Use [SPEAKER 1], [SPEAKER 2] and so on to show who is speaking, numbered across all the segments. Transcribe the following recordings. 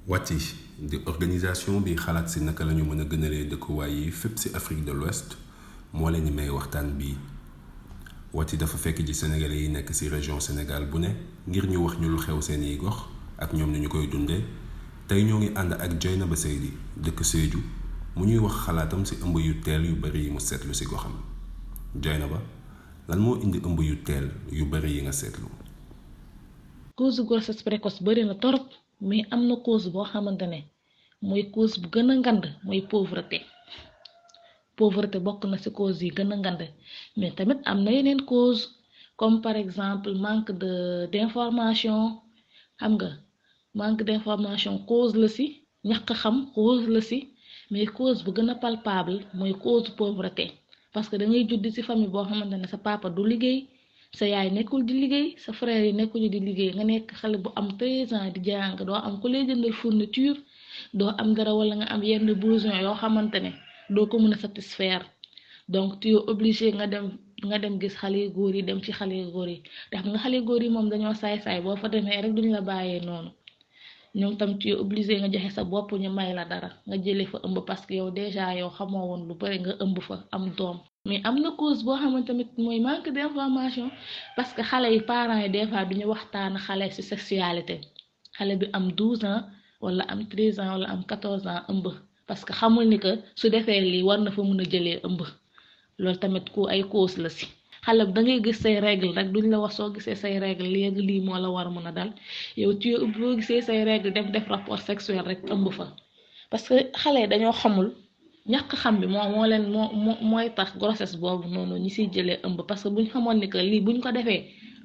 [SPEAKER 1] Wati di organisation bi xalaat si naka lañu mën a gënalee dëkkuwaay yi fépp si Afrique de l'Ouest moo leen di may waxtaan bii. Wati dafa fekk ji Sénégalais yi nekk si région Sénégal bu ne ngir ñu wax ñu lu xew seeni gox ak ñoom ni ñu koy dundee tey ñoo ngi ànd ak Dieynaba Seydi dëkk Sédhiou mu ñuy wax xalaatam si ëmb yu teel yu bari yi mu seetlu si goxam. Dieynaba lan moo indi ëmb yu teel yu bari yi nga seetlu.
[SPEAKER 2] cause grossesse précoce bari na torop mais am na cause boo xamante ne mooy cause bu gën a ngand mooy pauvreté bokk na ci cause yi gën a ngand mais tamit am na yeneen cause comme par exemple manque d'information xam nga manque d'information cause la ci ñàkk xam cause la ci mais cause bu gën a palpable mooy cause pauvreté parce que da ngay judd ci famille boo xamante ne sa papa du liggéey sa yaay nekkul di liggéey sa frère yi nekkuñu di liggéey nga nekk xale bu am 13 ans di jàng doo am ku lay jëndal fourniture doo am dara wala nga am yenn besoin yoo xamante ne doo ko mën a satisfaire donc tu es obligé nga dem gis xale yu góor yi dem ci xale yu góor yi te xam nga xale yu góor yi moom dañoo saay-saay boo fa demee rek duñu la bàyyee noonu ñoom tam tu es obligé nga joxe sa bopp ñu may la dara nga jëlee fa ëmb parce que yow déjà yow xamoo woon lu bari nga ëmb fa am doom. mais am na cause boo xamante tamit mooy manque d'information parce que xale yi parents yi des fois duñu waxtaan xale ci sexualité xale bi am 12 ans wala am 13 ans wala am 14 ans ëmb parce que xamul ni que su defee lii war na fa mën a jëlee ëmb loolu tamit ku ay cause la ci xale bi da ngay gis say règle rek duñ la wax soo gisee say règle léegi lii moo la war a mën a dal yow boo gisee say règle def rapport sexuel rek ëmb fa parce que xale yi dañoo xamul. ñàkk xam bi mooy tax grossesse boobu noonu ñi siy jëlee ëmb parce que buñ xamoon ni que lii buñ ko defee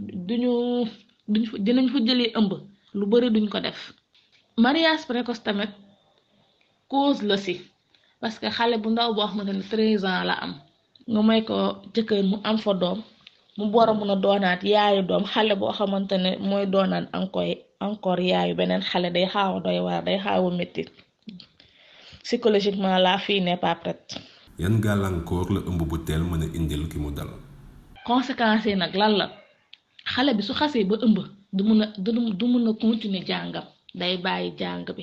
[SPEAKER 2] dinañ fa jëlee ëmb lu bari duñ ko def. mariage précoce tamit cause la ci parce que xale bu ndaw boo xamante ne 13 ans la am nga may ko jëkkër mu am fa doom mu war a mun a doonaat yaayu doom xale boo xamante ne mooy doonaat encore yaayu beneen xale day xaaw a doy waar day xaaw a métti. psychologiquement la fille n'est pas prête.
[SPEAKER 1] yan gàllankoor la ëmb bu teel mën a indil ki mu dal.
[SPEAKER 2] conséquences yi nag lan la xale bi su xasee ba ëmb du mun a continuer jàngam day bàyyi jàng bi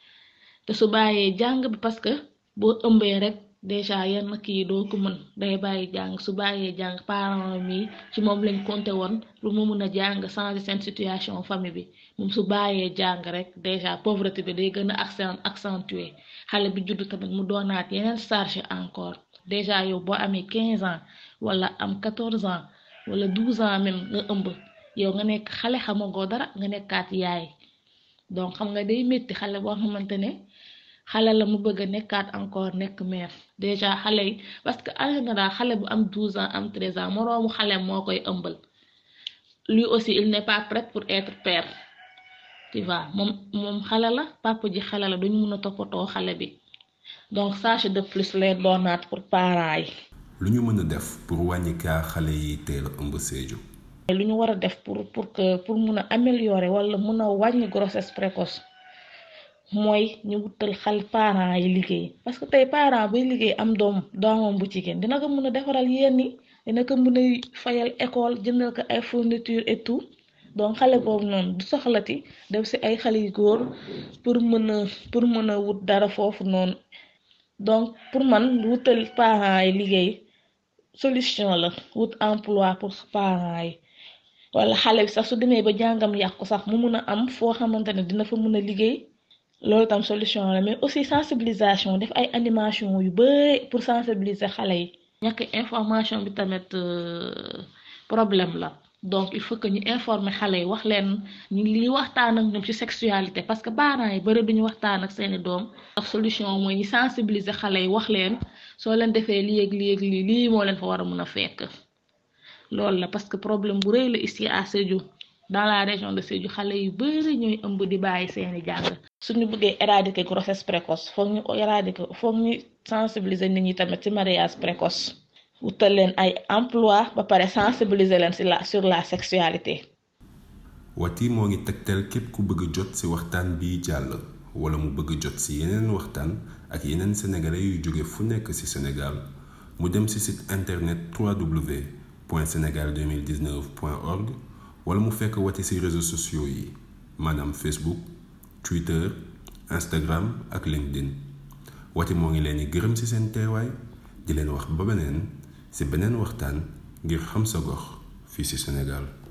[SPEAKER 2] te su bàyyee jàng bi parce que boo ëmbee rek déjà yenn kii doo ko mën day bàyyi jàng su bàyyee jàng parents mi ci moom lañ compté woon pour mu mun a jàng changer seen situation famille bi moom su bàyyee jàng rek déjà pauvreté bi day gën a accentuer xale bi juddu tamit mu doonaat yeneen charge encore déjà yow boo amee 15 ans wala am 14 ans wala 12 ans même nga ëmb yow nga nekk xale xamagoo dara nga nekkaat yaay donc xam nga day métti xale boo xamante ne xale la mu bëgg a nekkaat encore nekk mère déjà xale yi parce que en général xale bu am 12 ans am 13 ans moroomu xale moo koy ëmbal lui aussi il n'est pas prêt pour être père. tu vois moom xale la papa ji xale la duñu mën a toppatoo xale bi donc charge de plus lay doonaat pour parents yi.
[SPEAKER 1] lu ñu mën a def pour wàññi kaa xale yi teel a ëmb Sédhiou.
[SPEAKER 2] lu ñu war a def pour mun a améliorer wala mun a wàññi grossesse précoce mooy ñu wutal xale parents yi liggéey parce que tey parent buy liggéey am doomam bu jigéen dina ko mun a defaral yenn yi dina ko mun a fayal école jëndal ko ay fourniture et tout. donc xale boobu noonu du soxlati def ci ay xale yu góor pour mën a wut dara foofu noonu donc pour man wutal parents yi liggéey solution la wut emploi pour parents yi wala xale bi sax su demee ba jàngam yàqu sax mu mun a am foo xamante ne dina fa mun a liggéey loolu tam solution la mais aussi sensibilisation def ay animation yu bari pour sensibiliser xale yi. ñàkk information bi tamit problème la. donc il faut que ñu informer xale yi wax leen ñu lii waxtaan ak ñoom ci sexualité parce que parents yi bari duñu waxtaan ak seeni doom ak solution mooy ñu sensibiliser xale yi wax leen soo leen defee lii moo leen fa war a mën a fekk loolu la parce que problème bu rëy la ici à Sédhiou dans la région de Sédhiou xale yu bari ñooy ëmb di bàyyi seeni jàng suñu bëggee éradiquer grossesse précoce foog ñu sensibiliser nit ñi tamit ci mariage précoce wutal leen ay emploi ba pare sensibiliser leen sur la sexualité.
[SPEAKER 1] Wati moo ngi tegtal képp ku bëgg jot ci waxtaan bi jàll wala mu bëgg jot ci yeneen waxtaan ak yeneen sénégalais yu jóge fu nekk ci Sénégal mu dem ci site internet www.senegal2019.org wala mu fekk Wati ci réseaux sociaux yi maanaam Facebook Twitter Instagram ak LinkedIn Wati moo ngi leen di gërëm ci seen teewaay di leen wax ba beneen ci beneen waxtaan ngir xam sa gox fii ci Sénégal.